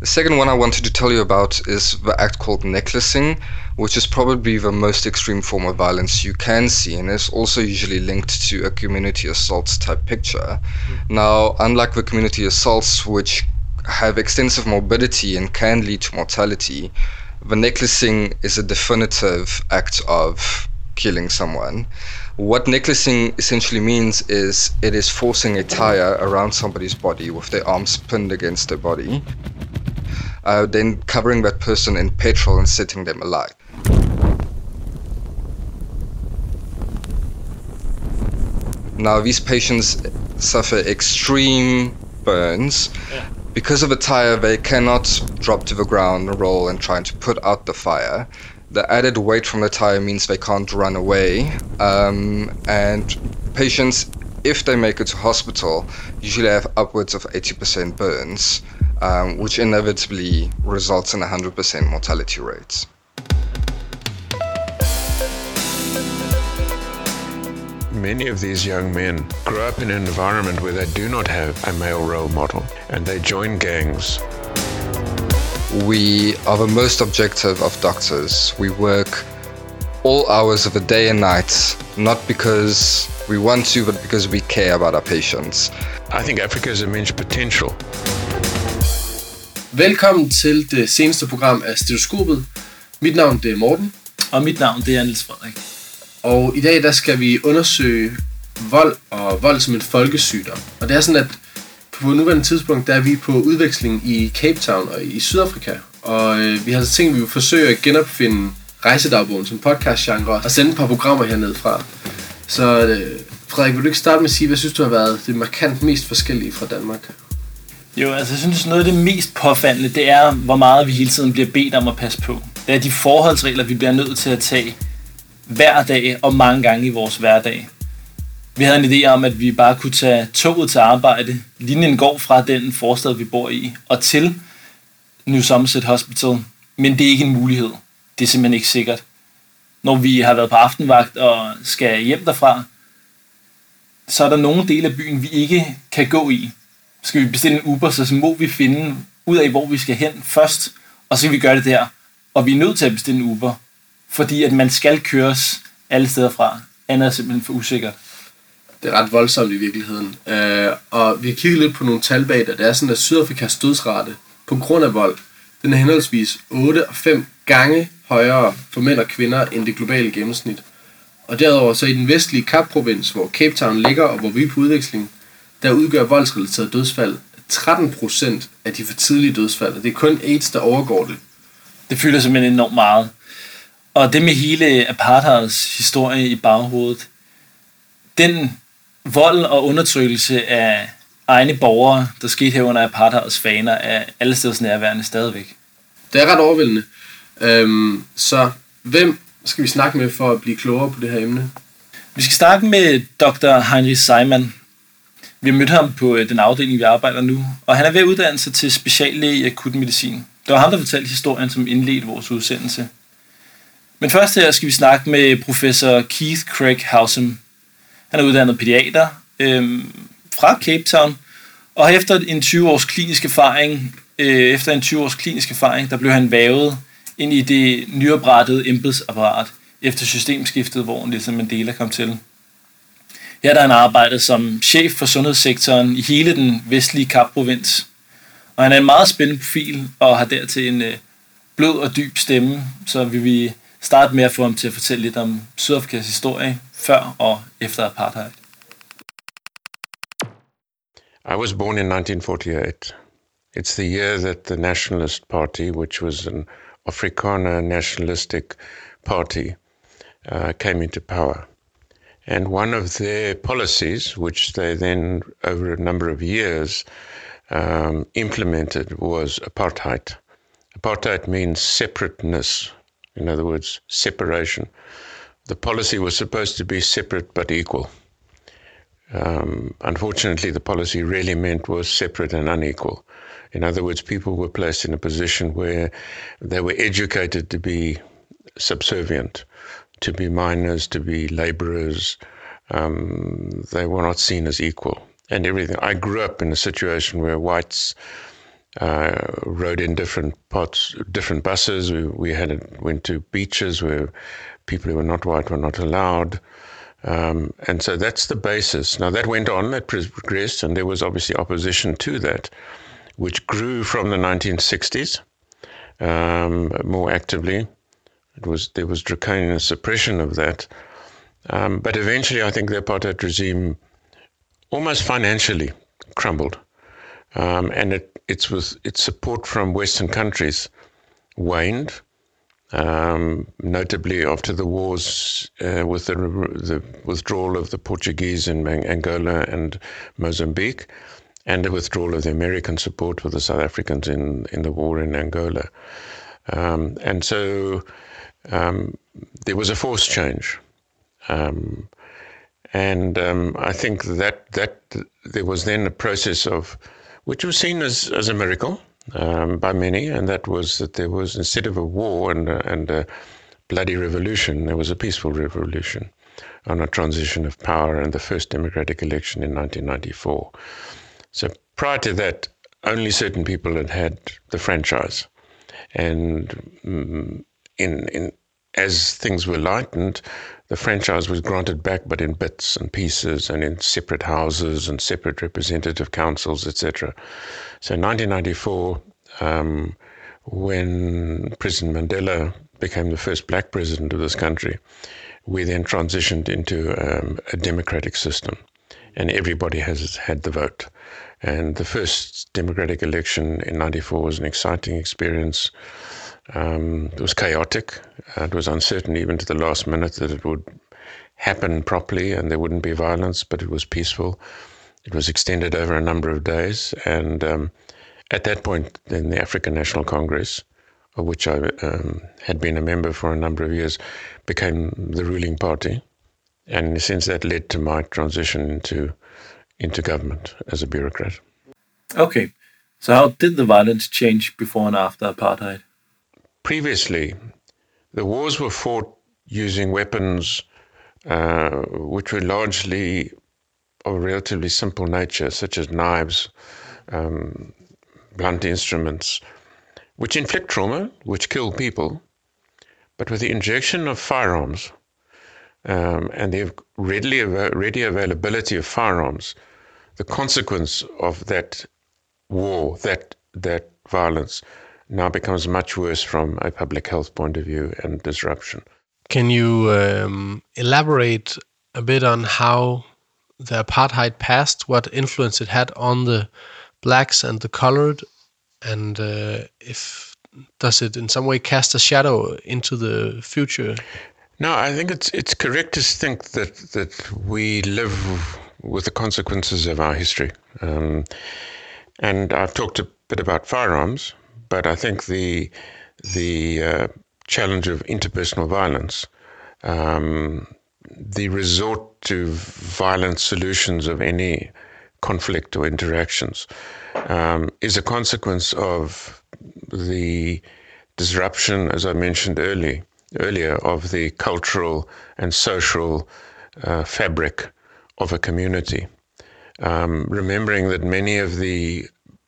The second one I wanted to tell you about is the act called necklacing, which is probably the most extreme form of violence you can see, and is also usually linked to a community assault type picture. Now, unlike the community assaults, which have extensive morbidity and can lead to mortality, the necklacing is a definitive act of killing someone. What necklacing essentially means is it is forcing a tire around somebody's body with their arms pinned against their body, then covering that person in petrol and setting them alight. Now, these patients suffer extreme burns. Because of the tire, they cannot drop to the ground, roll, and try to put out the fire. The added weight from the tire means they can't run away, and patients, if they make it to hospital, usually have upwards of 80% burns, which inevitably results in 100% mortality rates. Many of these young men grow up in an environment where they do not have a male role model, and they join gangs. We are the most objective of doctors. We work all hours of the day and night, not because we want to, but because we care about our patients. I think Africa has immense potential. Velkommen til det seneste program af Stetoskopet. Mit navn det er Morten. Og mit navn det er Niels Frederik. Og i dag der skal vi undersøge vold og vold som en folkesygdom. Og det er sådan, at på nuværende tidspunkt der er vi på udveksling i Cape Town og i Sydafrika. Og vi har tænkt, at vi vil forsøge at genopfinde rejsedagbogen som podcastgenre og sende et par programmer hernede fra. Så Frederik, vil du ikke starte med at sige, hvad synes du har været det markant mest forskellige fra Danmark? Jo, altså jeg synes noget af det mest påfaldende, det er, hvor meget vi hele tiden bliver bedt om at passe på. Det er de forholdsregler, vi bliver nødt til at tage hver dag og mange gange i vores hverdag. Vi havde en idé om, at vi bare kunne tage toget til arbejde. Linjen går fra den forstad, vi bor i, og til New Somerset Hospital. Men det er ikke en mulighed. Det er simpelthen ikke sikkert. Når vi har været på aftenvagt og skal hjem derfra, så er der nogle dele af byen, vi ikke kan gå i. Skal vi bestille en Uber, så må vi finde ud af, hvor vi skal hen først, og så kan vi gøre det der. Og vi er nødt til at bestille en Uber, fordi at man skal køres alle steder fra. Andet er simpelthen for usikkert. Det er ret voldsomt i virkeligheden. Og vi har kigget lidt på nogle tal bag det. Det er sådan, at Sydafrikas dødsrate på grund af vold, den er henholdsvis 8 og 5 gange højere for mænd og kvinder end det globale gennemsnit. Og derudover så i den vestlige Kap-provins, hvor Cape Town ligger og hvor vi er på udveksling, der udgør voldsrelateret dødsfald 13% af de for tidlige dødsfald. Og det er kun AIDS, der overgår det. Det fylder simpelthen enormt meget. Og det med hele apartheids historie i baghovedet, den vold og undertrykkelse af egne borgere, der skete her under apartheids faner, er alle steds nærværende stadigvæk. Det er ret overvældende. Så hvem skal vi snakke med for at blive klogere på det her emne? Vi skal snakke med Dr. Heinrich Seiman. Vi har mødt ham på den afdeling, vi arbejder nu, og han er ved at uddanne sig til speciallæge i akutmedicin. Det var ham, der fortalte historien, som indledte vores udsendelse. Men først her skal vi snakke med professor Keith Craig Howsam. Han er uddannet pædiater fra Cape Town, og efter en 20-års klinisk erfaring, der blev han vævet ind i det nyoprettede embedsapparat efter systemskiftet, hvor Nelson Mandela kom til. Her der han arbejdet som chef for sundhedssektoren i hele den vestlige Kap-provins. Og han er en meget spændende profil og har dertil en blød og dyb stemme, så vi vil starte med at få ham til at fortælle lidt om Sydafrikas historie før og efter apartheid. I was born in 1948. It's the year that the Nationalist Party, which was an Afrikaner nationalistic party, came into power. And one of their policies, which they then, over a number of years, implemented, was apartheid. Apartheid means separateness, in other words, separation. The policy was supposed to be separate but equal. Unfortunately, the policy really meant was separate and unequal. In other words, people were placed in a position where they were educated to be subservient, to be miners, to be laborers. They were not seen as equal and everything. I grew up in a situation where whites rode in different buses. We went to beaches where people who were not white were not allowed. And so that's the basis. Now that went on, that progressed, and there was obviously opposition to that, which grew from the 1960s more actively. There was draconian suppression of that. But eventually I think the apartheid regime almost financially crumbled. And its support from Western countries waned, notably after the wars with the withdrawal of the Portuguese in Angola and Mozambique, and the withdrawal of the American support for the South Africans in the war in Angola. And so there was a forced change. I think that there was then a process of, which was seen as a miracle by many, and that was that there was, instead of a war and a bloody revolution, there was a peaceful revolution on a transition of power and the first democratic election in 1994. So prior to that, only certain people had the franchise, and as things were lightened, the franchise was granted back, but in bits and pieces and in separate houses and separate representative councils, etc. So in 1994, when President Mandela became the first black president of this country, we then transitioned into a democratic system, and everybody has had the vote. And the first democratic election in 94 was an exciting experience. It was chaotic. It was uncertain even to the last minute that it would happen properly and there wouldn't be violence, but it was peaceful. It was extended over a number of days. And at that point, then the African National Congress, of which I had been a member for a number of years, became the ruling party. And in a sense, that led to my transition into government as a bureaucrat. Okay. So how did the violence change before and after apartheid? Previously, the wars were fought using weapons which were largely of a relatively simple nature, such as knives, blunt instruments, which inflict trauma, which kill people. But with the injection of firearms and the ready availability of firearms, the consequence of that war, that violence, now becomes much worse from a public health point of view and disruption. Can you elaborate a bit on how the apartheid passed, what influence it had on the blacks and the colored, and does it in some way cast a shadow into the future? No, I think it's correct to think that we live with the consequences of our history. And I've talked a bit about firearms, but I think the challenge of interpersonal violence, the resort to violent solutions of any conflict or interactions, is a consequence of the disruption, as I mentioned earlier, of the cultural and social fabric of a community. Remembering that many of the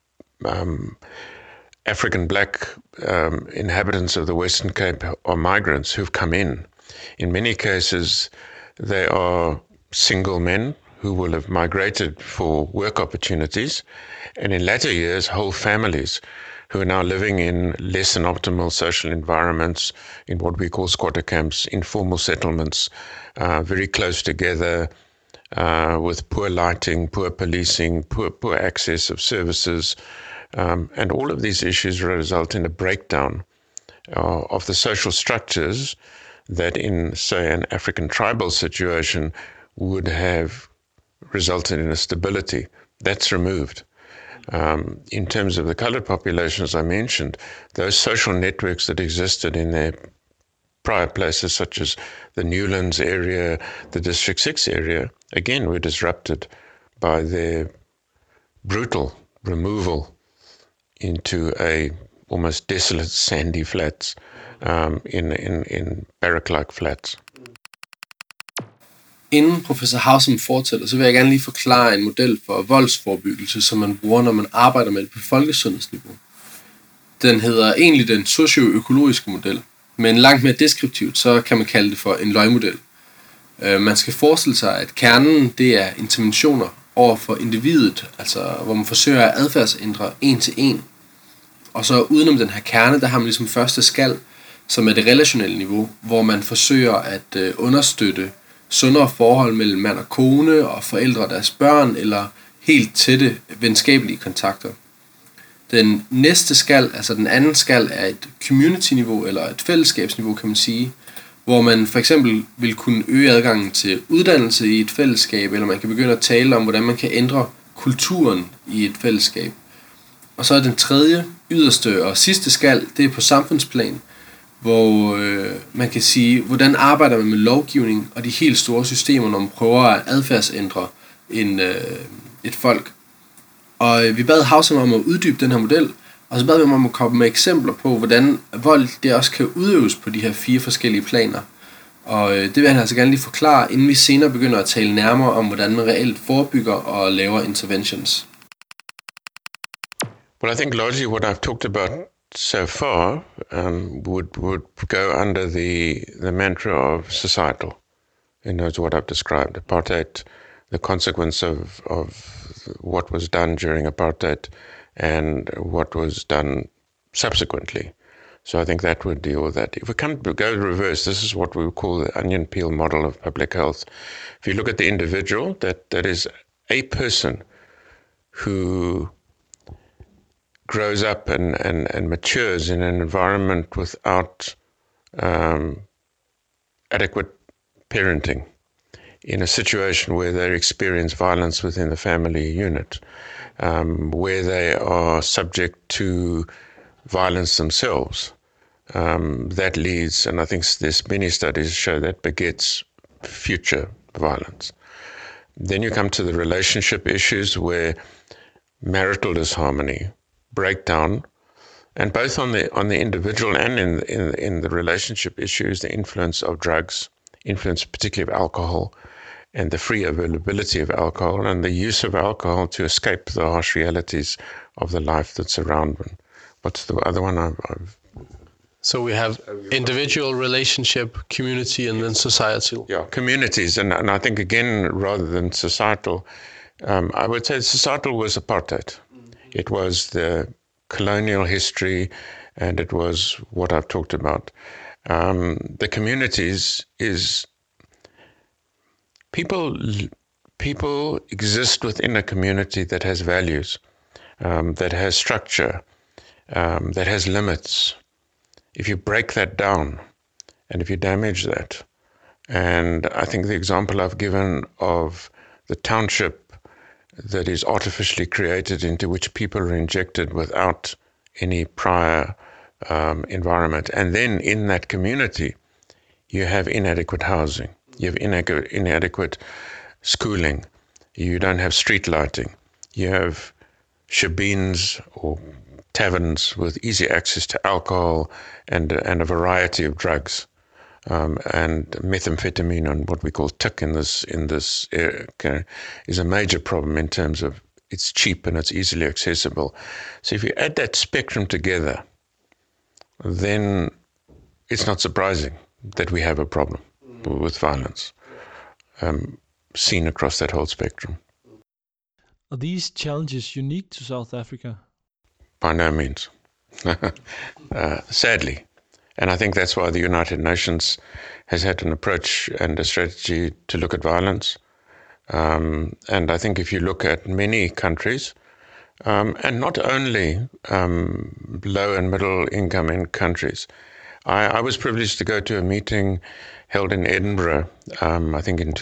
African black inhabitants of the Western Cape are migrants who've come in. In many cases, they are single men who will have migrated for work opportunities, and in latter years, whole families who are now living in less than optimal social environments, in what we call squatter camps, informal settlements, very close together, with poor lighting, poor policing, poor access of services. And all of these issues result in a breakdown of the social structures that in, say, an African tribal situation would have resulted in a stability. That's removed. In terms of the colored population, as I mentioned, those social networks that existed in their prior places, such as the Newlands area, the District 6 area, again, were disrupted by their brutal removal into a almost desolate sandy flats in barrack-like flats. Inden professor Haussam fortsætter, så vil jeg gerne lige forklare en model for voldsforebyggelse, som man bruger, når man arbejder med det på folkesundhedsniveau. Den hedder egentlig den socioøkologiske model, men langt mere deskriptivt, så kan man kalde det for en løgmodel. Man skal forestille sig, at kernen det er interventioner over for individet, altså hvor man forsøger at adfærdsændre en til en. Og så udenom den her kerne, der har man ligesom første skal, som er det relationelle niveau, hvor man forsøger at understøtte sundere forhold mellem mand og kone og forældre og deres børn, eller helt tætte venskabelige kontakter. Den næste skal, altså den anden skal, er et community-niveau eller et fællesskabsniveau, kan man sige, hvor man for eksempel vil kunne øge adgangen til uddannelse i et fællesskab, eller man kan begynde at tale om, hvordan man kan ændre kulturen i et fællesskab. Og så er den tredje, yderste og sidste skal, det er på samfundsplan, hvor man kan sige, hvordan arbejder man med lovgivning og de helt store systemer, når man prøver at adfærdsændre et folk. Og vi bad Haussam om at uddybe den her model, og så bad vi om at komme med eksempler på, hvordan vold det også kan udøves på de her 4 forskellige planer. Og det vil han altså gerne lige forklare, inden vi senere begynder at tale nærmere om, hvordan man reelt forebygger og laver interventions. Well, I think largely what I've talked about so far would go under the mantra of societal. It's what I've described. Apartheid, the consequence of what was done during apartheid and what was done subsequently. So I think that would deal with that. If we go reverse, this is what we would call the onion peel model of public health. If you look at the individual, that is a person who grows up and matures in an environment without adequate parenting, in a situation where they experience violence within the family unit, where they are subject to violence themselves. That leads, and I think there's many studies show that begets future violence. Then you come to the relationship issues where marital disharmony, breakdown, and both on the individual and in the relationship issues, the influence of drugs, influence particularly of alcohol, and the free availability of alcohol, and the use of alcohol to escape the harsh realities of the life that's around them. What's the other one? So we have individual, relationship, community, and then societal. Yeah, communities, and I think again, rather than societal, I would say societal was apartheid. It was the colonial history, and it was what I've talked about. The communities is people exist within a community that has values, that has structure, that has limits. If you break that down, and if you damage that, and I think the example I've given of the township that is artificially created into which people are injected without any prior environment. And then in that community, you have inadequate housing, you have inadequate schooling, you don't have street lighting, you have shebeens or taverns with easy access to alcohol and a variety of drugs. And methamphetamine and what we call TIC in this area is a major problem in terms of it's cheap and it's easily accessible. So if you add that spectrum together, then it's not surprising that we have a problem with violence seen across that whole spectrum. Are these challenges unique to South Africa? By no means. Sadly. And I think that's why the United Nations has had an approach and a strategy to look at violence. And I think if you look at many countries, and not only low and middle income countries, I was privileged to go to a meeting held in Edinburgh, I think in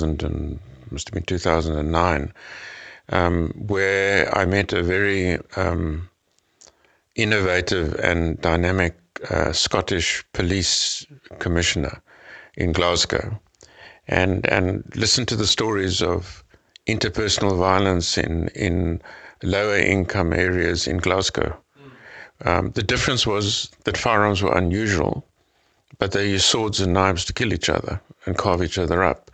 2009, where I met a very innovative and dynamic Scottish police commissioner in Glasgow, and listen to the stories of interpersonal violence in lower income areas in Glasgow. The difference was that firearms were unusual, but they used swords and knives to kill each other and carve each other up.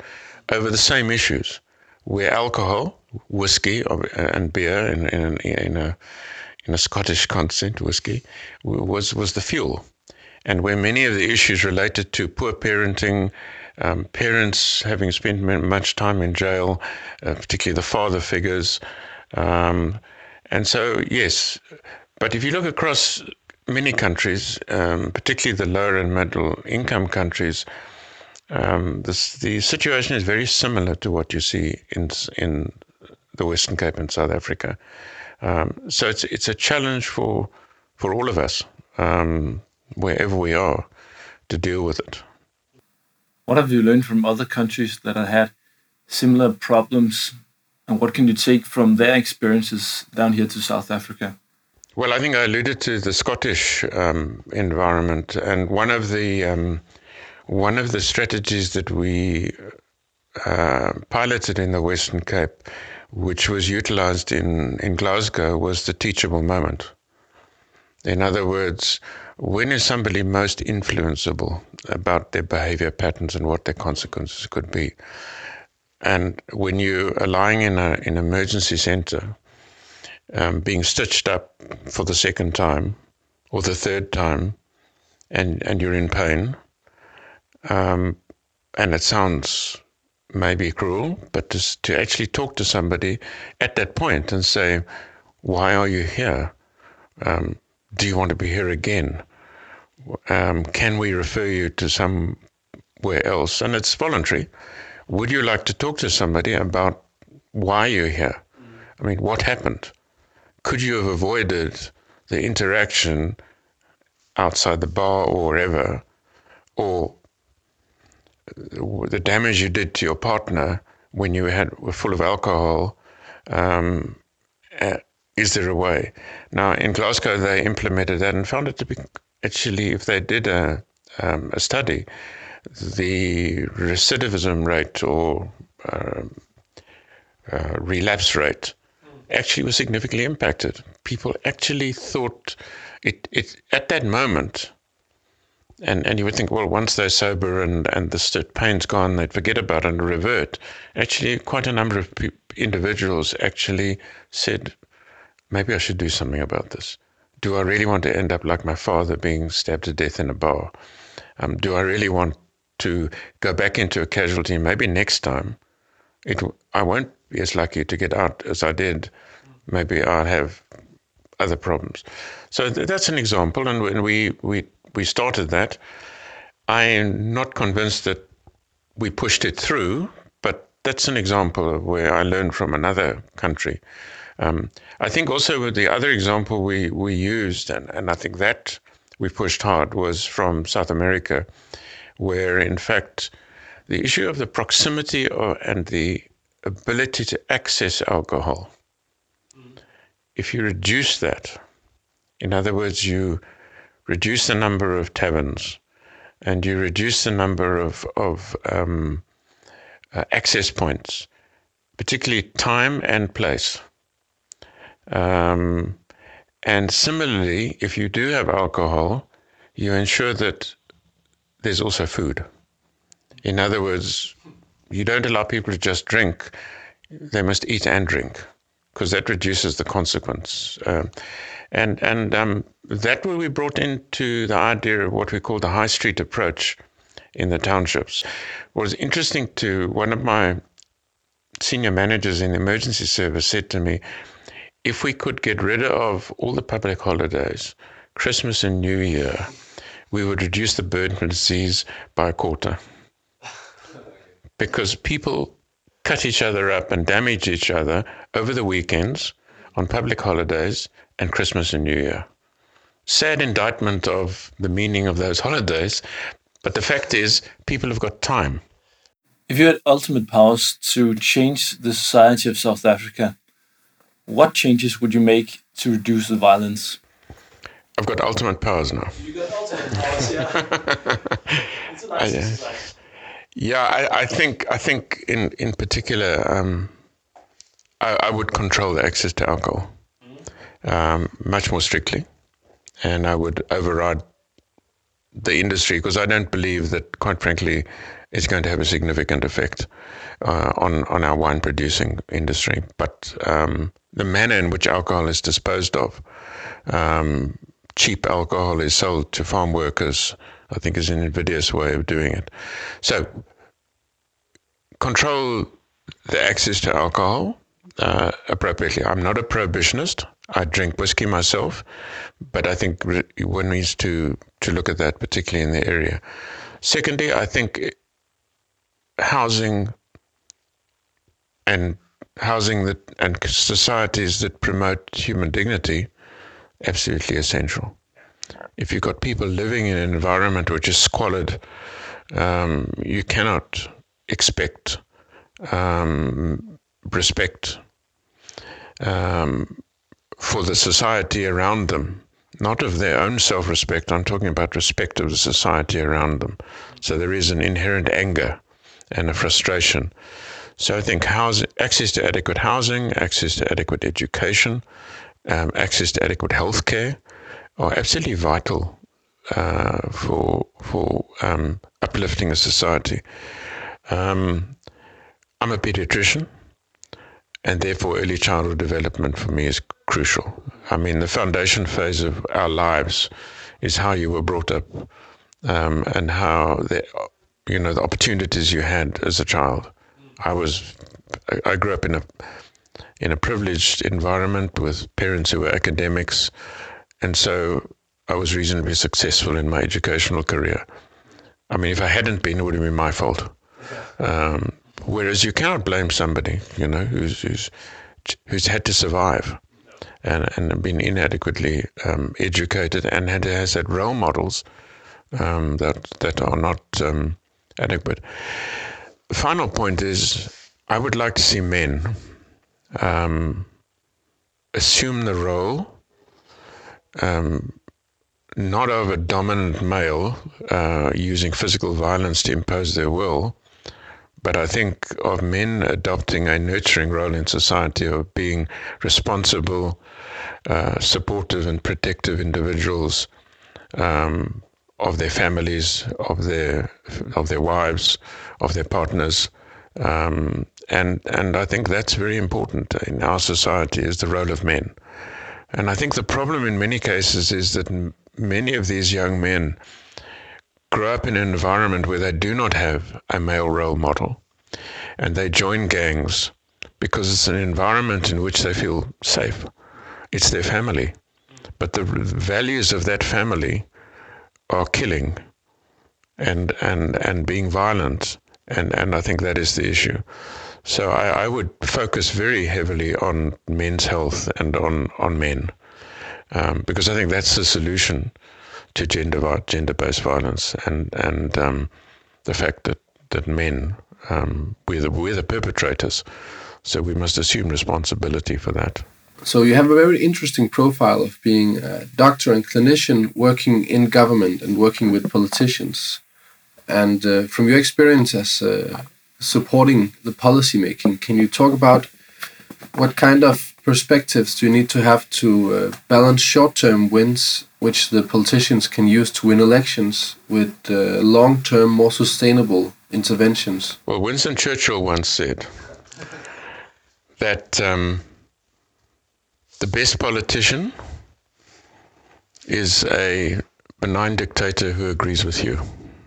over the same issues, where alcohol, whiskey and beer in a Scottish concept, whiskey, was the fuel. And where many of the issues related to poor parenting, parents having spent much time in jail, particularly the father figures. And so, yes, but if you look across many countries, particularly the lower and middle income countries, the situation is very similar to what you see in the Western Cape and South Africa. So it's a challenge for all of us, wherever we are, to deal with it. What have you learned from other countries that have had similar problems, and what can you take from their experiences down here to South Africa? Well, I think I alluded to the Scottish environment, and one of the strategies that we piloted in the Western Cape, which was utilized in Glasgow, was the teachable moment. In other words, when is somebody most influenceable about their behavior patterns and what their consequences could be? And when you are lying in an emergency center, being stitched up for the second time or the third time, and you're in pain, and it sounds maybe cruel, but to actually talk to somebody at that point and say, why are you here? Do you want to be here again? Can we refer you to somewhere else? And it's voluntary. Would you like to talk to somebody about why you're here? I mean, what happened? Could you have avoided the interaction outside the bar or wherever, or the damage you did to your partner when you were full of alcohol? Is there a way? Now, in Glasgow, they implemented that and found it to be, actually, if they did a study, the recidivism rate or relapse rate actually was significantly impacted. People actually thought it at that moment, and you would think, well, once they're sober and the pain's gone, they'd forget about it and revert. Actually, quite a number of individuals actually said, maybe I should do something about this. Do I really want to end up like my father being stabbed to death in a bar? Do I really want to go back into a casualty? Maybe next time I won't be as lucky to get out as I did. Maybe I'll have other problems. So that's an example, and when we started that, I'm not convinced that we pushed it through, but that's an example of where I learned from another country. I think also with the other example we used, and I think that we pushed hard, was from South America, where in fact the issue of the proximity and the ability to access alcohol, if you reduce that, in other words, you reduce the number of taverns and you reduce the number of access points, particularly time and place. And similarly, if you do have alcohol, you ensure that there's also food. In other words, you don't allow people to just drink. They must eat and drink, because that reduces the consequence. And that way we brought into the idea of what we call the high street approach in the townships. What was interesting to one of my senior managers in the emergency service said to me, if we could get rid of all the public holidays, Christmas and New Year, we would reduce the burden of disease by a quarter. Because people cut each other up and damage each other over the weekends, on public holidays, and Christmas and New Year. Sad indictment of the meaning of those holidays, but the fact is, people have got time. If you had ultimate powers to change the society of South Africa, what changes would you make to reduce the violence? I've got ultimate powers now. You got ultimate powers, yeah. It's a nice exercise. Yeah, I think in particular, I would control the access to alcohol much more strictly, and I would override the industry, because I don't believe that, quite frankly, is going to have a significant effect on our wine producing industry. But the manner in which alcohol is disposed of, cheap alcohol is sold to farm workers, I think is an invidious way of doing it. So control the access to alcohol appropriately. I'm not a prohibitionist. I drink whiskey myself, but I think one needs to look at that, particularly in the area. Secondly, I think housing and societies that promote human dignity, absolutely essential. If you've got people living in an environment which is squalid, you cannot expect respect for the society around them, not of their own self-respect. I'm talking about respect of the society around them. So there is an inherent anger and a frustration. So I think access to adequate housing, access to adequate education, access to adequate health care are absolutely vital for uplifting a society. I'm a pediatrician, and therefore early childhood development for me is crucial. I mean, the foundation phase of our lives is how you were brought up, and how the opportunities you had as a child. I grew up in a privileged environment with parents who were academics, and so I was reasonably successful in my educational career. I mean, if I hadn't been, it would have been my fault. Whereas you cannot blame somebody, who's had to survive and been inadequately educated and has had role models that are not adequate. The final point is, I would like to see men assume the role, not of a dominant male using physical violence to impose their will, but I think of men adopting a nurturing role in society, of being responsible, supportive and protective individuals of their families, of their wives, of their partners. And I think that's very important in our society, is the role of men. And I think the problem in many cases is that many of these young men grow up in an environment where they do not have a male role model, and they join gangs because it's an environment in which they feel safe. It's their family. But the values of that family are killing and being violent, and I think that is the issue. So I would focus very heavily on men's health and on men, because I think that's the solution to gender-based violence, and the fact that men, we're the perpetrators, so we must assume responsibility for that. So you have a very interesting profile of being a doctor and clinician working in government and working with politicians. And from your experience as supporting the policy making, can you talk about what kind of perspectives do you need to have to balance short-term wins, which the politicians can use to win elections, with long-term, more sustainable interventions? Well, Winston Churchill once said that the best politician is a benign dictator who agrees with you,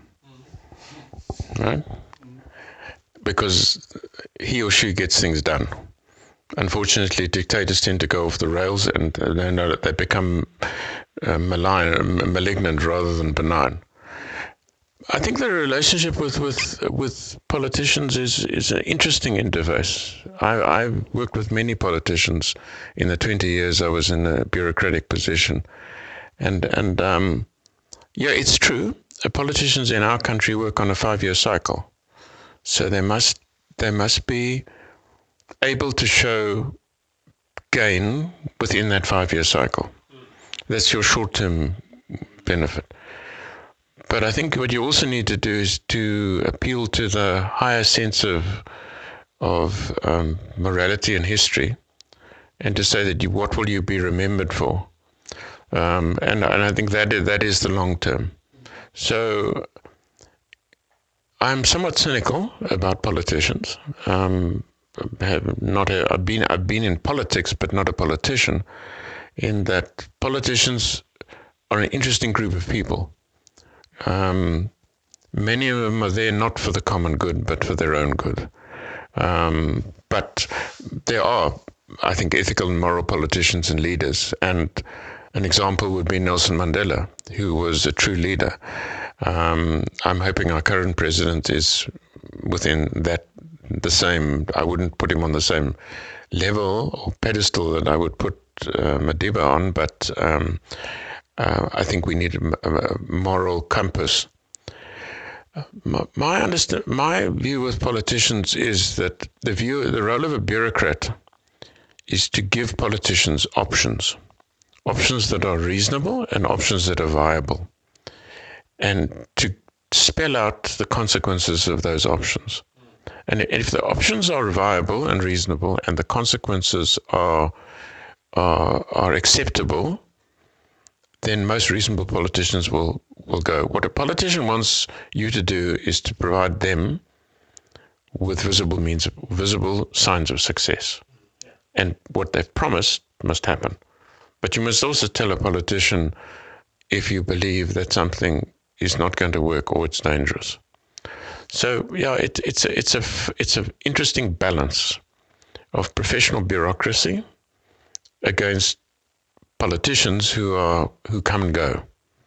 right? Because he or she gets things done. Unfortunately, dictators tend to go off the rails, and they become malignant rather than benign. I think the relationship with politicians is an interesting interface. I've worked with many politicians in the 20 years I was in a bureaucratic position, and yeah, it's true. Politicians in our country work on a 5-year cycle, so they must be able to show gain within that 5-year cycle. That's your short-term benefit. But I think what you also need to do is to appeal to the higher sense of morality and history, and to say that what will you be remembered for? And I think that is the long term. So I'm somewhat cynical about politicians. I've been in politics, but not a politician. In that politicians are an interesting group of people. Many of them are there not for the common good, but for their own good. But there are, I think, ethical and moral politicians and leaders. And an example would be Nelson Mandela, who was a true leader. I'm hoping our current president is within the same. I wouldn't put him on the same level or pedestal that I would put Madiba on, but I think we need a moral compass. My view with politicians is that the role of a bureaucrat is to give politicians options that are reasonable and options that are viable, and to spell out the consequences of those options. And if the options are viable and reasonable and the consequences are acceptable, then most reasonable politicians will go. What a politician wants you to do is to provide them with visible signs of success. And what they've promised must happen. But you must also tell a politician if you believe that something is not going to work or it's dangerous. So yeah, it's an interesting balance of professional bureaucracy against politicians who come and go.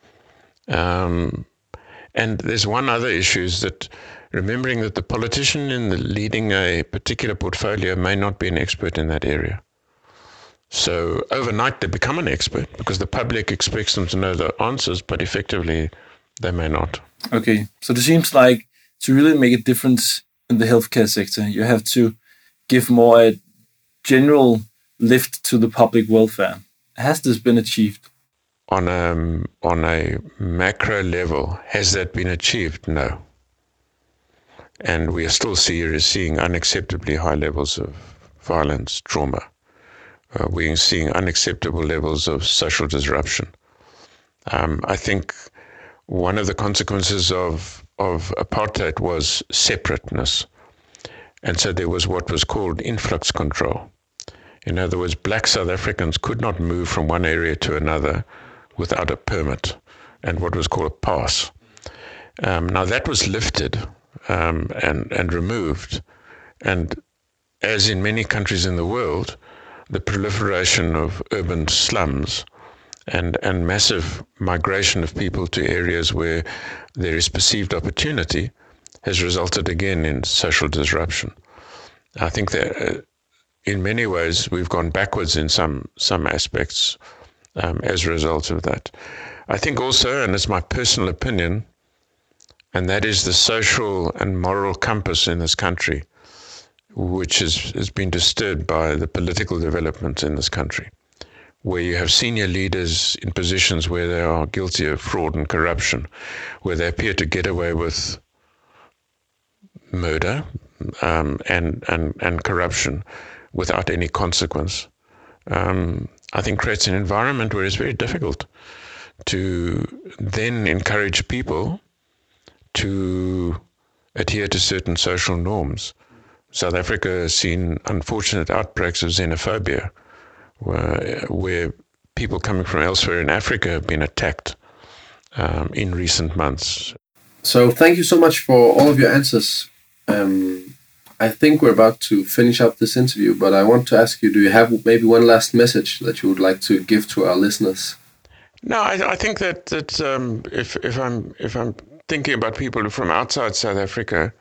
And there's one other issue, is that remembering that the politician leading a particular portfolio may not be an expert in that area. So overnight they become an expert because the public expects them to know the answers, but effectively they may not. Okay, so it seems like to really make a difference in the healthcare sector, you have to give more a general lift to the public welfare. Has this been achieved? On a macro level, has that been achieved? No. And we are still seeing unacceptably high levels of violence, trauma. We are seeing unacceptable levels of social disruption. I think one of the consequences of apartheid was separateness. And so there was what was called influx control. In other words, black South Africans could not move from one area to another without a permit and what was called a pass. Now that was lifted and removed. And as in many countries in the world, the proliferation of urban slums and massive migration of people to areas where there is perceived opportunity has resulted again in social disruption. I think that in many ways we've gone backwards in some aspects as a result of that. I think also, and it's my personal opinion, and that is the social and moral compass in this country, which has been disturbed by the political development in this country, where you have senior leaders in positions where they are guilty of fraud and corruption, where they appear to get away with murder and corruption without any consequence. I think creates an environment where it's very difficult to then encourage people to adhere to certain social norms. South Africa has seen unfortunate outbreaks of xenophobia, where people coming from elsewhere in Africa have been attacked in recent months. So thank you so much for all of your answers. I think we're about to finish up this interview, but I want to ask you, do you have maybe one last message that you would like to give to our listeners? No, I think that if I'm thinking about people from outside South Africa,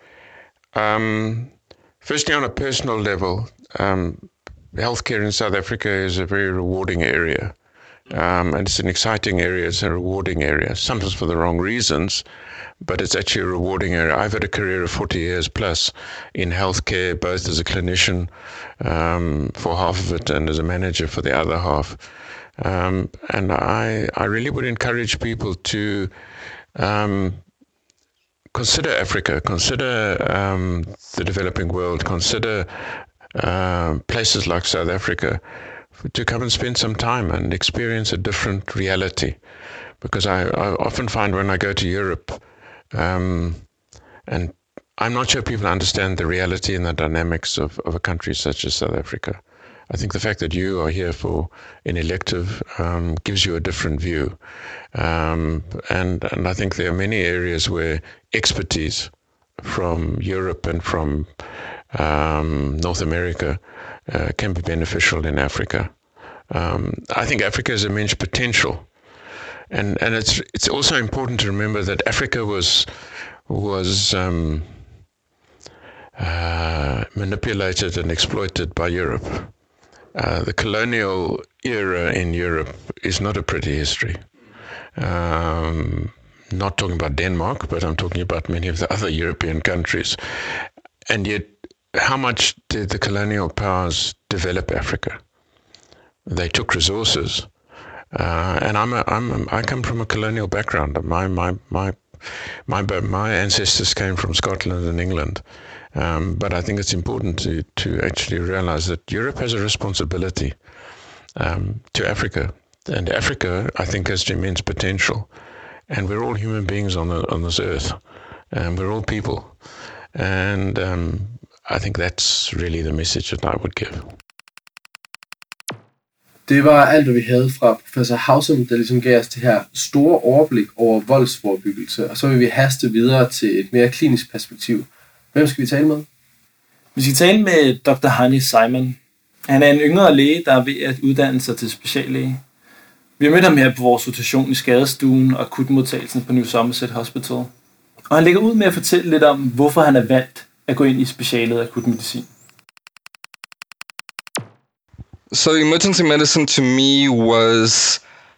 firstly on a personal level, healthcare in South Africa is a very rewarding area, and it's an exciting area. It's a rewarding area, sometimes for the wrong reasons, but it's actually a rewarding area. I've had a career of 40 years plus in healthcare, both as a clinician for half of it and as a manager for the other half. And I really would encourage people to consider Africa, consider the developing world, consider places like South Africa, to come and spend some time and experience a different reality. Because I often find when I go to Europe and I'm not sure people understand the reality and the dynamics of a country such as South Africa. I think the fact that you are here for an elective gives you a different view. And I think there are many areas where expertise from Europe and from North America can be beneficial in Africa. I think Africa has immense potential. And it's also important to remember that Africa was manipulated and exploited by Europe. The colonial era in Europe is not a pretty history. Not talking about Denmark, but I'm talking about many of the other European countries. And yet, how much did the colonial powers develop Africa? They took resources. And I come from a colonial background. My ancestors came from Scotland and England. But I think it's important to actually realize that Europe has a responsibility to Africa. And Africa, I think, has immense potential. And we're all human beings on this earth. And we're all people. And I think that's really the message that I would give. Det var alt, hvad vi havde fra professor Haussum, der ligesom gav os det her store overblik over voldsforebyggelse. Og så vil vi haste videre til et mere klinisk perspektiv. Hvem skal vi tale med? Vi skal tale med Dr. Hani Simon. Han er en yngre læge, der er ved at uddanne sig til speciallæge. Vi har mødt ham her på vores rotation i skadestuen og akutmodtagelsen på New Somerset Hospital. Og han lægger ud med at fortælle lidt om, hvorfor han er valgt at gå ind i specialet akutmedicin. So emergency medicine to me was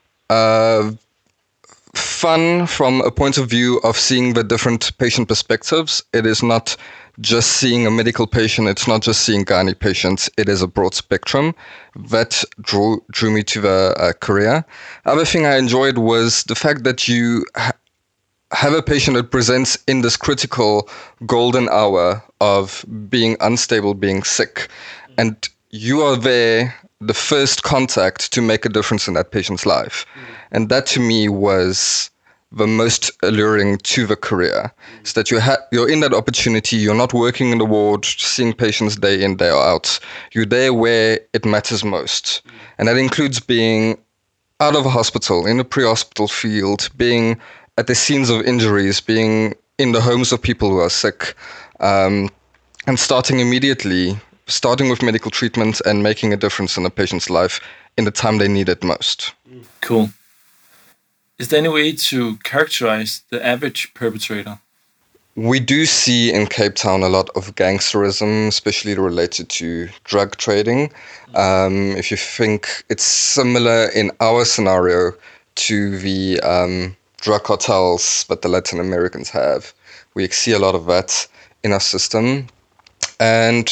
fun from a point of view of seeing the different patient perspectives. It is not just seeing a medical patient, it's not just seeing gynae patients, it is a broad spectrum. That drew me to the career. Other thing I enjoyed was the fact that you have a patient that presents in this critical golden hour of being unstable, being sick, and you are there, the first contact to make a difference in that patient's life. And that to me was the most alluring to the career, is that you're in that opportunity, you're not working in the ward, seeing patients day in, day out. You're there where it matters most. And that includes being out of a hospital, in a pre-hospital field, being at the scenes of injuries, being in the homes of people who are sick, and starting immediately, starting with medical treatment and making a difference in a patient's life in the time they need it most. Cool. Is there any way to characterize the average perpetrator? We do see in Cape Town a lot of gangsterism, especially related to drug trading. If you think it's similar in our scenario to the drug cartels that the Latin Americans have, we see a lot of that in our system. And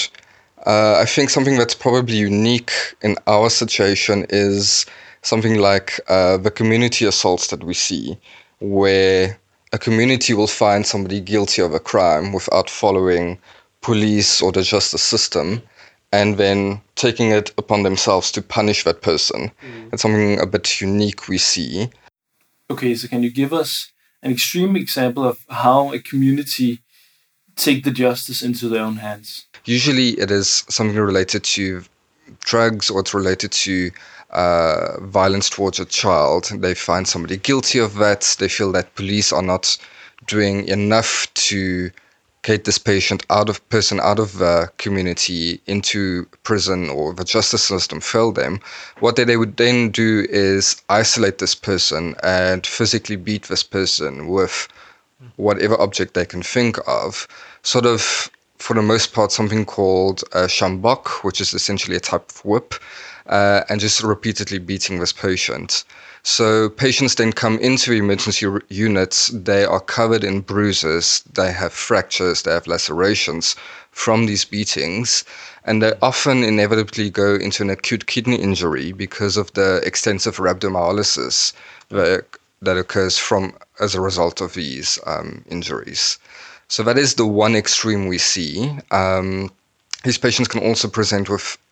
I think something that's probably unique in our situation is something like the community assaults that we see, where a community will find somebody guilty of a crime without following police or the justice system, and then taking it upon themselves to punish that person. It's something a bit unique we see. Okay, so can you give us an extreme example of how a community take the justice into their own hands? Usually it is something related to drugs, or it's related to violence towards a child. They find somebody guilty of that. They feel that police are not doing enough to get this person out of the community into prison, or the justice system failed them. What they would then do is isolate this person and physically beat this person with whatever object they can think of. Sort of, for the most part, something called a sjambok, which is essentially a type of whip, and just repeatedly beating this patient. So patients then come into emergency units, they are covered in bruises, they have fractures, they have lacerations from these beatings, and they often inevitably go into an acute kidney injury because of the extensive rhabdomyolysis that occurs as a result of these injuries. So that is the one extreme we see. These patients can also present with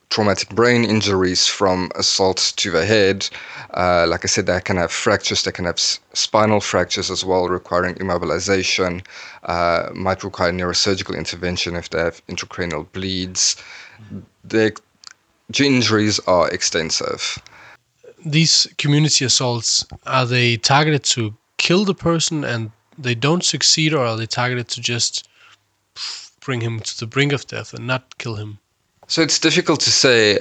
traumatic brain injuries from assault to the head. Like I said, they can have fractures, they can have spinal fractures as well, requiring immobilization, might require neurosurgical intervention if they have intracranial bleeds. The injuries are extensive. These community assaults, are they targeted to kill the person and they don't succeed, or are they targeted to just bring him to the brink of death and not kill him? So it's difficult to say.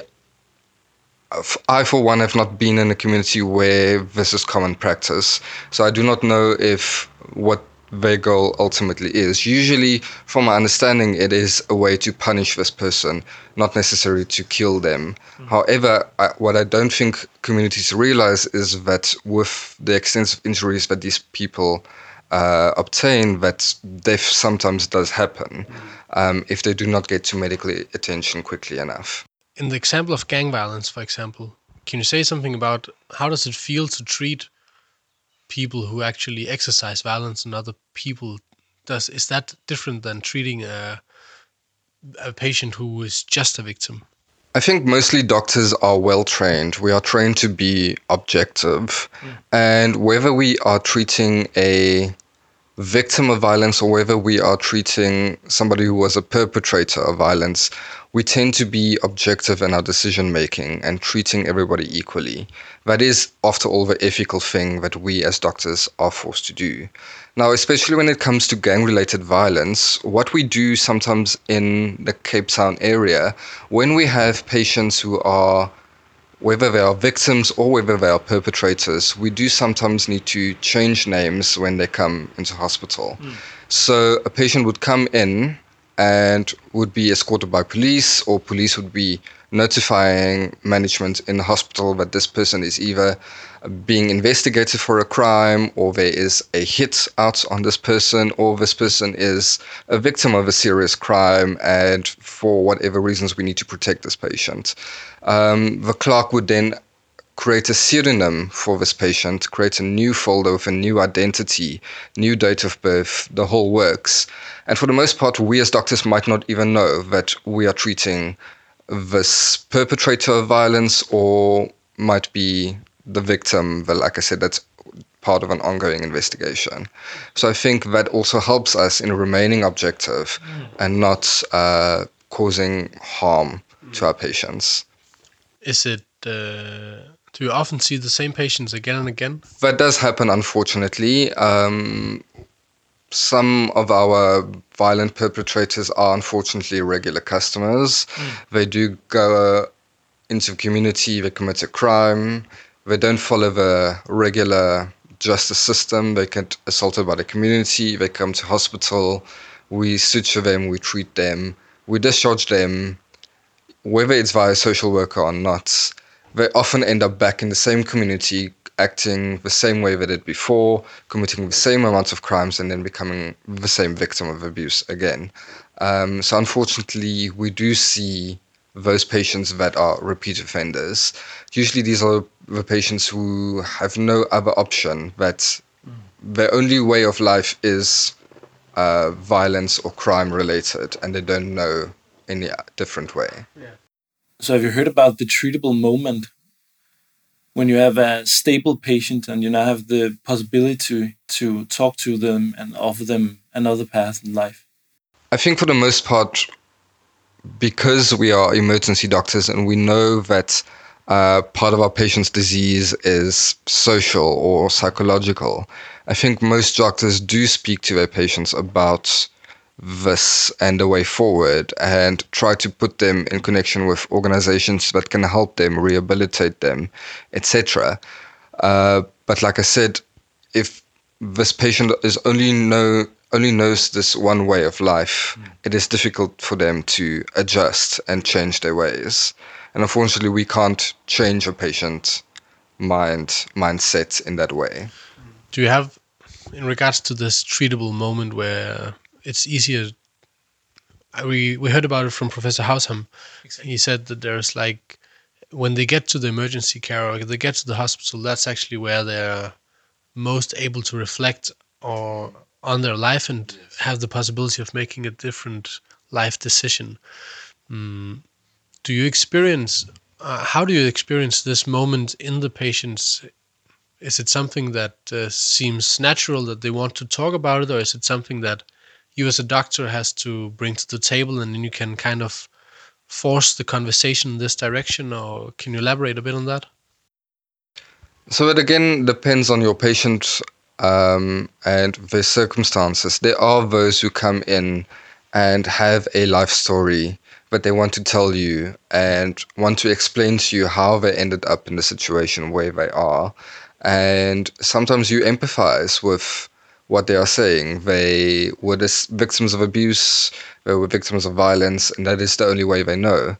I, for one, have not been in a community where this is common practice, so I do not know if what their goal ultimately is. Usually, from my understanding, it is a way to punish this person, not necessarily to kill them. However, what I don't think communities realize is that with the extensive injuries that these people obtain, that death sometimes does happen if they do not get to medical attention quickly enough. In the example of gang violence, for example, can you say something about how does it feel to treat people who actually exercise violence on other people? Is that different than treating a patient who is just a victim? I think mostly doctors are well trained. We are trained to be objective. And whether we are treating a victim of violence or whether we are treating somebody who was a perpetrator of violence, we tend to be objective in our decision making and treating everybody equally. That is, after all, the ethical thing that we as doctors are forced to do. Now, especially when it comes to gang-related violence, what we do sometimes in the Cape Town area, when we have patients who are, whether they are victims or whether they are perpetrators, we do sometimes need to change names when they come into hospital. So a patient would come in and would be escorted by police, or police would be notifying management in the hospital that this person is either being investigated for a crime, or there is a hit out on this person, or this person is a victim of a serious crime, and for whatever reasons we need to protect this patient. The clerk would then create a pseudonym for this patient, create a new folder with a new identity, new date of birth, the whole works. And for the most part, we as doctors might not even know that we are treating this perpetrator of violence, or might be the victim. But like I said, that's part of an ongoing investigation. So I think that also helps us in remaining objective and not causing harm to our patients. Is it, do you often see the same patients again and again? That does happen, unfortunately. Some of our violent perpetrators are unfortunately regular customers. They do go into the community, they commit a crime, they don't follow the regular justice system, they get assaulted by the community, they come to hospital, we suture them, we treat them, we discharge them, whether it's via a social worker or not. They often end up back in the same community, acting the same way they did before, committing the same amount of crimes, and then becoming the same victim of abuse again. So unfortunately, we do see those patients that are repeat offenders. Usually these are the patients who have no other option, that their only way of life is violence or crime related, and they don't know any different way. So have you heard about the treatable moment? When you have a stable patient and you now have the possibility to talk to them and offer them another path in life? I think for the most part, because we are emergency doctors and we know that part of our patient's disease is social or psychological, I think most doctors do speak to their patients about this and the way forward, and try to put them in connection with organizations that can help them, rehabilitate them, etc. But like I said, if this patient is only knows this one way of life, it is difficult for them to adjust and change their ways. And unfortunately, we can't change a patient's mindset in that way. Do you have, in regards to this treatable moment where it's easier, we heard about it from Professor Hausham. Exactly. He said that there's like, when they get to the emergency care or they get to the hospital, that's actually where they're most able to reflect or on their life and have the possibility of making a different life decision. do you experience? How do you experience this moment in the patients? Is it something that seems natural that they want to talk about it, or is it something that you as a doctor has to bring to the table, and then you can kind of force the conversation in this direction? Or can you elaborate a bit on that? So it again depends on your patient and their circumstances. There are those who come in and have a life story that they want to tell you and want to explain to you how they ended up in the situation where they are. And sometimes you empathize with what they are saying. They were victims of abuse, they were victims of violence, and that is the only way they know.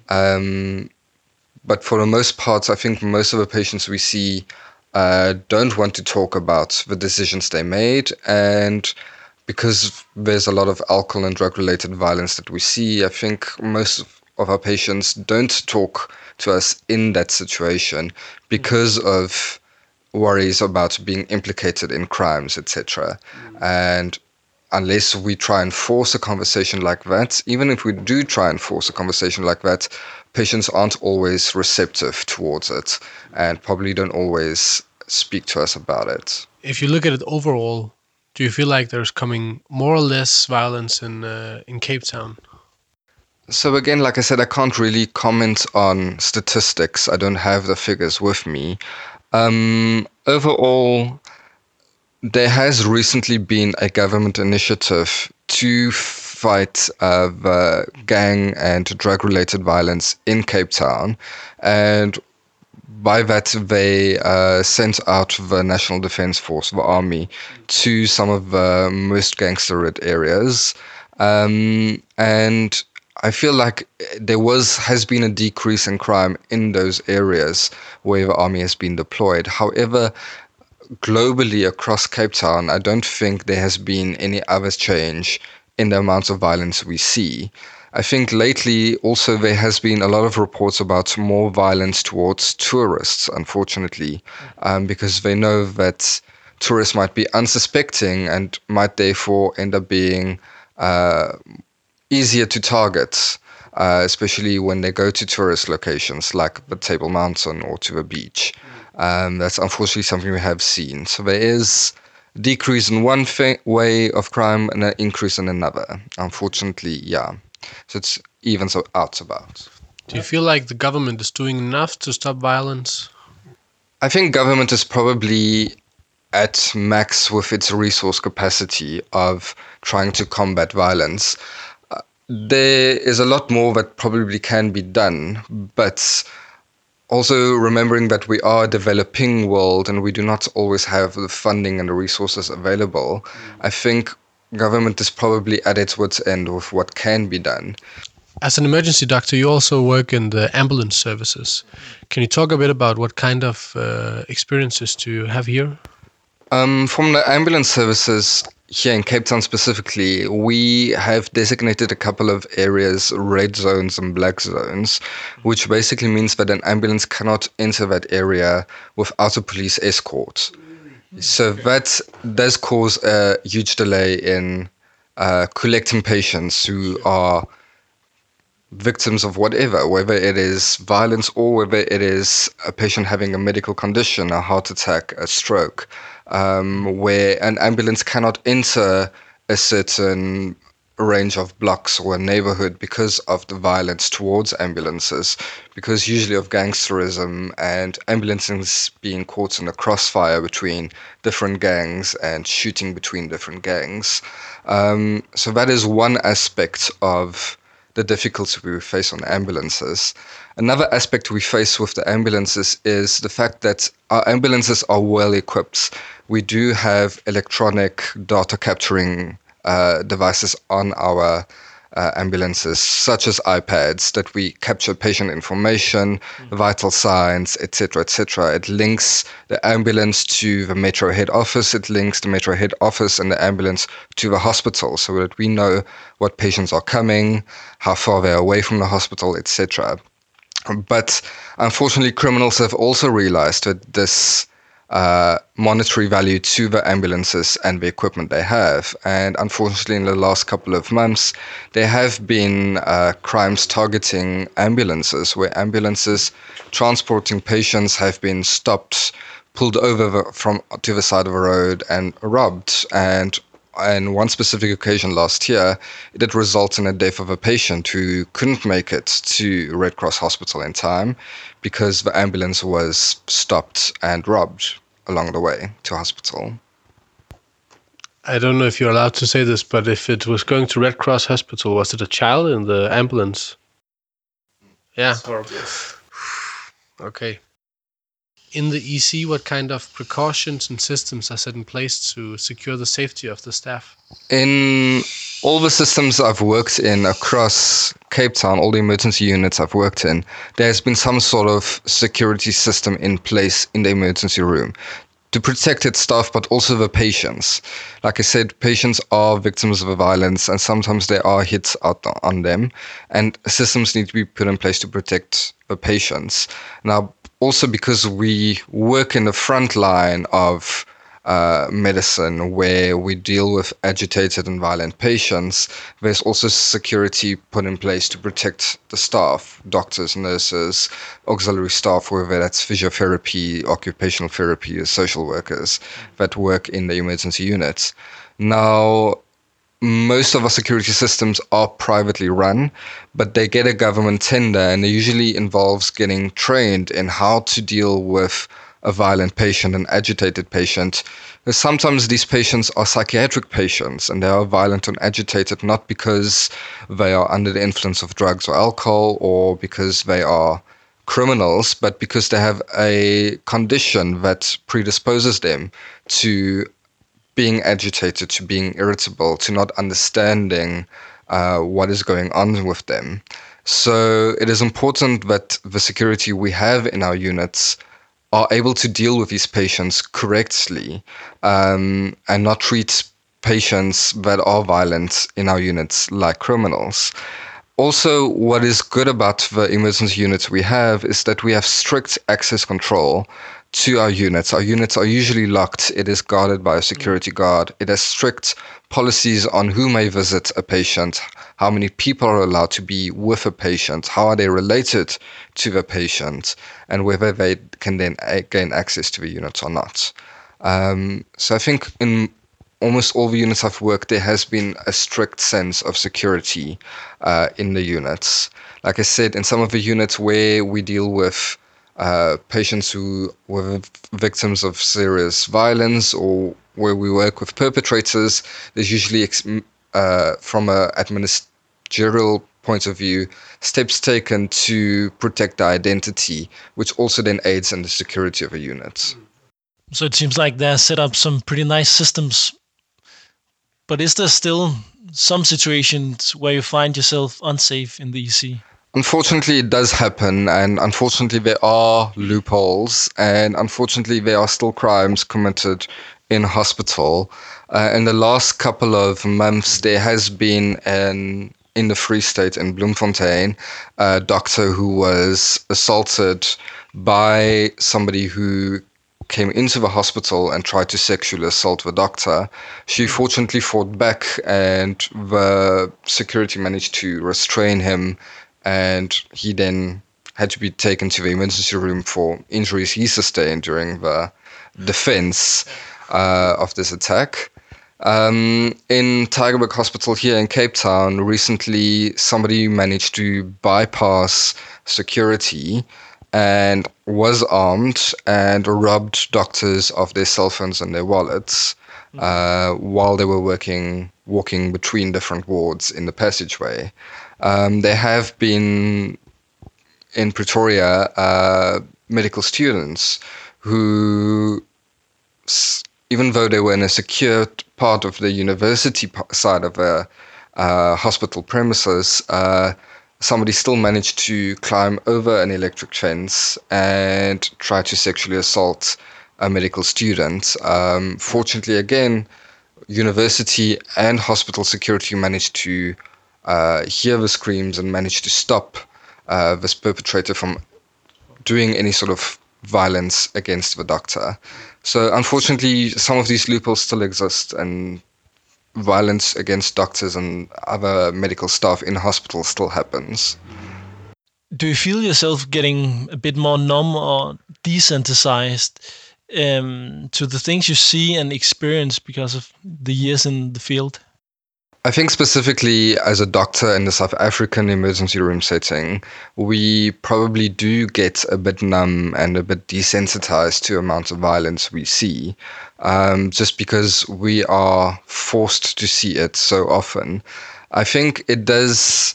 But for the most part, I think most of the patients we see don't want to talk about the decisions they made. And because there's a lot of alcohol and drug-related violence that we see, I think most of our patients don't talk to us in that situation because of worries about being implicated in crimes, etc. And unless we try and force a conversation like that, even if we do try and force a conversation like that, patients aren't always receptive towards it and probably don't always speak to us about it. If you look at it overall, do you feel like there's coming more or less violence in Cape Town? So again, like I said, I can't really comment on statistics. I don't have the figures with me. Overall, there has recently been a government initiative to fight the gang and drug-related violence in Cape Town, and by that they sent out the National Defence Force, the army, to some of the most gangster-rid areas, and I feel like there has been a decrease in crime in those areas where the army has been deployed. However, globally across Cape Town, I don't think there has been any other change in the amounts of violence we see. I think lately also there has been a lot of reports about more violence towards tourists, unfortunately, because they know that tourists might be unsuspecting and might therefore end up being easier to target, especially when they go to tourist locations like the Table Mountain or to the beach. That's unfortunately something we have seen. So there is a decrease in one way of crime and an increase in another. Unfortunately, yeah. So it's evens out about. Do you feel like the government is doing enough to stop violence? I think government is probably at max with its resource capacity of trying to combat violence. There is a lot more that probably can be done, but also remembering that we are a developing world and we do not always have the funding and the resources available, I think government is probably at its wit's end with what can be done. As an emergency doctor, you also work in the ambulance services. Can you talk a bit about what kind of experiences do you have here? From the ambulance services here in Cape Town specifically, we have designated a couple of areas, red zones and black zones, which basically means that an ambulance cannot enter that area without a police escort. So that does cause a huge delay in collecting patients who are victims of whatever, whether it is violence or whether it is a patient having a medical condition, a heart attack, a stroke, where an ambulance cannot enter a certain range of blocks or a neighborhood because of the violence towards ambulances, because usually of gangsterism and ambulances being caught in a crossfire between different gangs and shooting between different gangs. So that is one aspect of the difficulty we face on ambulances. Another aspect we face with the ambulances is the fact that our ambulances are well equipped. We do have electronic data capturing devices on our ambulances, such as iPads, that we capture patient information, vital signs, etc., etc. It links the ambulance to the Metro head office. It links the Metro head office and the ambulance to the hospital, so that we know what patients are coming, how far they're away from the hospital, etc. But unfortunately, criminals have also realized that this monetary value to the ambulances and the equipment they have. And unfortunately, in the last couple of months, there have been crimes targeting ambulances, where ambulances transporting patients have been stopped, pulled over to the side of a road and robbed. And on one specific occasion last year, it did result in the death of a patient who couldn't make it to Red Cross Hospital in time because the ambulance was stopped and robbed along the way to hospital. I don't know if you're allowed to say this, but if it was going to Red Cross Hospital, was it a child in the ambulance? Yeah. That's horrible. Okay. In the EC, what kind of precautions and systems are set in place to secure the safety of the staff? In all the systems I've worked in across Cape Town, all the emergency units I've worked in, there's been some sort of security system in place in the emergency room to protect its staff, but also the patients. Like I said, patients are victims of violence, and sometimes there are hits out on them, and systems need to be put in place to protect the patients. Now, also because we work in the front line of medicine, where we deal with agitated and violent patients, there's also security put in place to protect the staff, doctors, nurses, auxiliary staff, whether that's physiotherapy, occupational therapy, or social workers that work in the emergency units. Now, most of our security systems are privately run, but they get a government tender, and it usually involves getting trained in how to deal with a violent patient, an agitated patient. Sometimes these patients are psychiatric patients, and they are violent and agitated not because they are under the influence of drugs or alcohol or because they are criminals, but because they have a condition that predisposes them to being agitated, to being irritable, to not understanding what is going on with them. So it is important that the security we have in our units are able to deal with these patients correctly, and not treat patients that are violent in our units like criminals. Also, what is good about the emergency units we have is that we have strict access control to our units. Our units are usually locked. It is guarded by a security guard. It has strict policies on who may visit a patient, how many people are allowed to be with a patient, how are they related to the patient, and whether they can then gain access to the unit or not. So I think in almost all the units I've worked, there has been a strict sense of security in the units. Like I said, in some of the units where we deal with patients who were victims of serious violence, or where we work with perpetrators, there's usually, from an administrative point of view, steps taken to protect the identity, which also then aids in the security of a unit. So it seems like they're set up some pretty nice systems. But is there still some situations where you find yourself unsafe in the EC? Unfortunately, it does happen, and unfortunately there are loopholes, and unfortunately there are still crimes committed in hospital. In the last couple of months, there has been in the Free State in Bloemfontein, a doctor who was assaulted by somebody who came into the hospital and tried to sexually assault the doctor. She fortunately fought back, and the security managed to restrain him, and he then had to be taken to the emergency room for injuries he sustained during the defense of this attack. In Tygerberg Hospital here in Cape Town, recently somebody managed to bypass security and was armed and robbed doctors of their cell phones and their wallets while they were walking between different wards in the passageway. There have been in Pretoria medical students who, even though they were in a secure part of the university side of a hospital premises, somebody still managed to climb over an electric fence and try to sexually assault a medical student. Fortunately, again, university and hospital security managed to hear the screams and managed to stop this perpetrator from doing any sort of violence against the doctor. So unfortunately, some of these loopholes still exist, and violence against doctors and other medical staff in hospitals still happens. Do you feel yourself getting a bit more numb or desensitized to the things you see and experience because of the years in the field? I think specifically as a doctor in the South African emergency room setting, we probably do get a bit numb and a bit desensitized to amounts of violence we see, just because we are forced to see it so often. I think it does,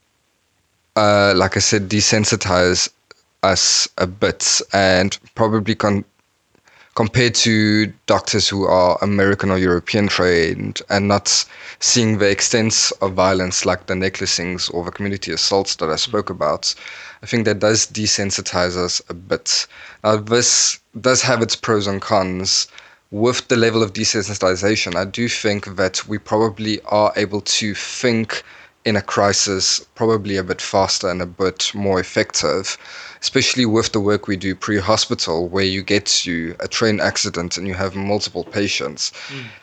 like I said, desensitize us a bit, and probably compared to doctors who are American or European trained and not seeing the extent of violence like the necklacings or the community assaults that I spoke about, I think that does desensitize us a bit. Now, this does have its pros and cons. With the level of desensitization, I do think that we probably are able to think in a crisis probably a bit faster and a bit more effective, especially with the work we do pre-hospital, where you get to a train accident and you have multiple patients.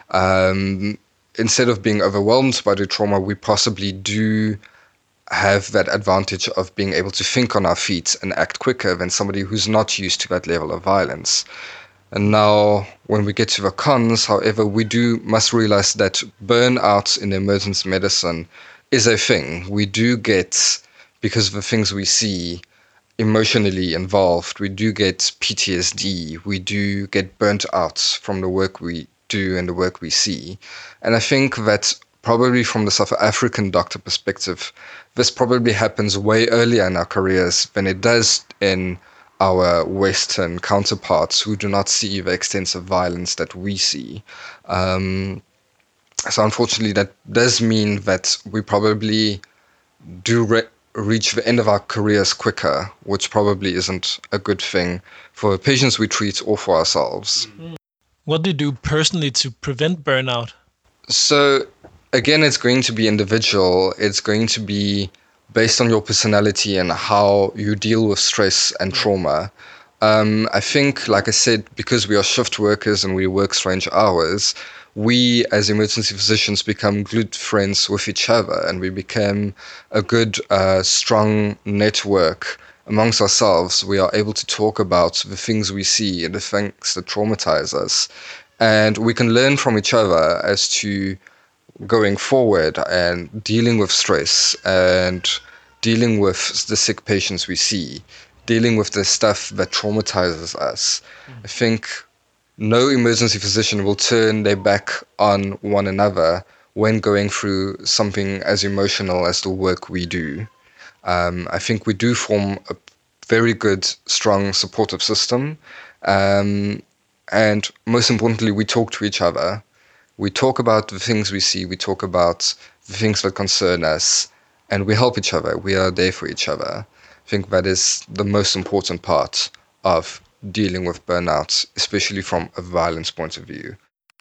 Instead of being overwhelmed by the trauma, we possibly do have that advantage of being able to think on our feet and act quicker than somebody who's not used to that level of violence. And now, when we get to the cons, however, we must realize that burnout in emergency medicine is a thing. We do get, because of the things we see, emotionally involved. We do get PTSD. We do get burnt out from the work we do and the work we see. And I think that probably from the South African doctor perspective, this probably happens way earlier in our careers than it does in our Western counterparts who do not see the extensive violence that we see. So unfortunately, that does mean that we probably do reach the end of our careers quicker, which probably isn't a good thing for the patients we treat or for ourselves. What do you do personally to prevent burnout? So again, it's going to be individual. It's going to be based on your personality and how you deal with stress and trauma. I think, like I said, because we are shift workers and we work strange hours, we as emergency physicians become good friends with each other, and we become a good, strong network amongst ourselves. We are able to talk about the things we see and the things that traumatize us, and we can learn from each other as to going forward and dealing with stress and dealing with the sick patients we see, dealing with the stuff that traumatizes us. I think no emergency physician will turn their back on one another when going through something as emotional as the work we do. I think we do form a very good, strong, supportive system. And most importantly, we talk to each other. We talk about the things we see. We talk about the things that concern us. And we help each other. We are there for each other. I think that is the most important part of dealing with burnout, especially from a violence point of view.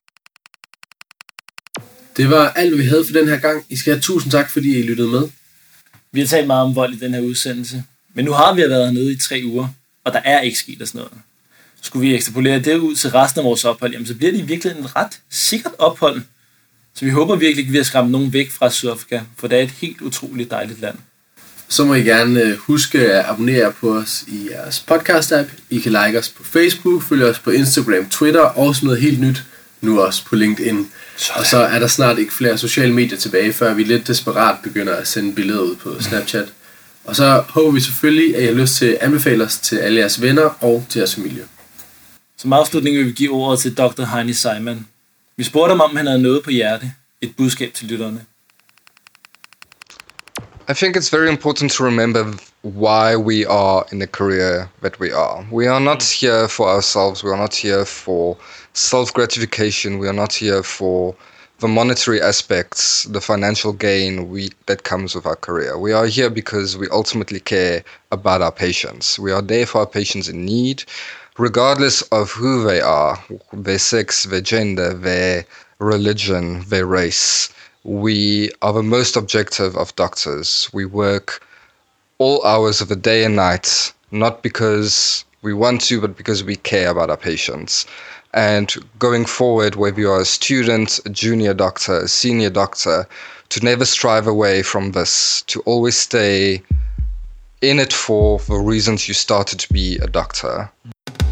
Det var alt, vi havde for den her gang. I skal have tusind tak, fordi I lyttede med. Vi har talt meget om vold i den her udsendelse, men nu har vi været hernede i 3 uger, og der er ikke sket sådan noget. Skulle vi ekstrapolere det ud til resten af vores ophold, jamen så bliver det i virkeligheden et ret sikkert ophold. Så vi håber virkelig ikke, at vi har skræmt nogen væk fra Sydafrika, for det er et helt utroligt dejligt land. Så må I gerne huske at abonnere på os i jeres podcast-app. I kan like os på Facebook, følge os på Instagram, Twitter og sådan noget helt nyt. Nu også på LinkedIn. Sådan. Og så er der snart ikke flere sociale medier tilbage, før vi lidt desperat begynder at sende billeder ud på Snapchat. Og så håber vi selvfølgelig, at I har lyst til at anbefale os til alle jeres venner og til jeres familie. Som afslutning vil vi give ordet til Dr. Heini Saiman. Vi spurgte ham, om han havde noget på hjerte. Et budskab til lytterne. I think it's very important to remember why we are in the career that we are. We are not here for ourselves. We are not here for self-gratification. We are not here for the monetary aspects, the financial gain that comes with our career. We are here because we ultimately care about our patients. We are there for our patients in need, regardless of who they are, their sex, their gender, their religion, their race. We are the most objective of doctors. We work all hours of the day and night, not because we want to, but because we care about our patients. And going forward, whether you are a student, a junior doctor, a senior doctor, to never strive away from this, to always stay in it for the reasons you started to be a doctor.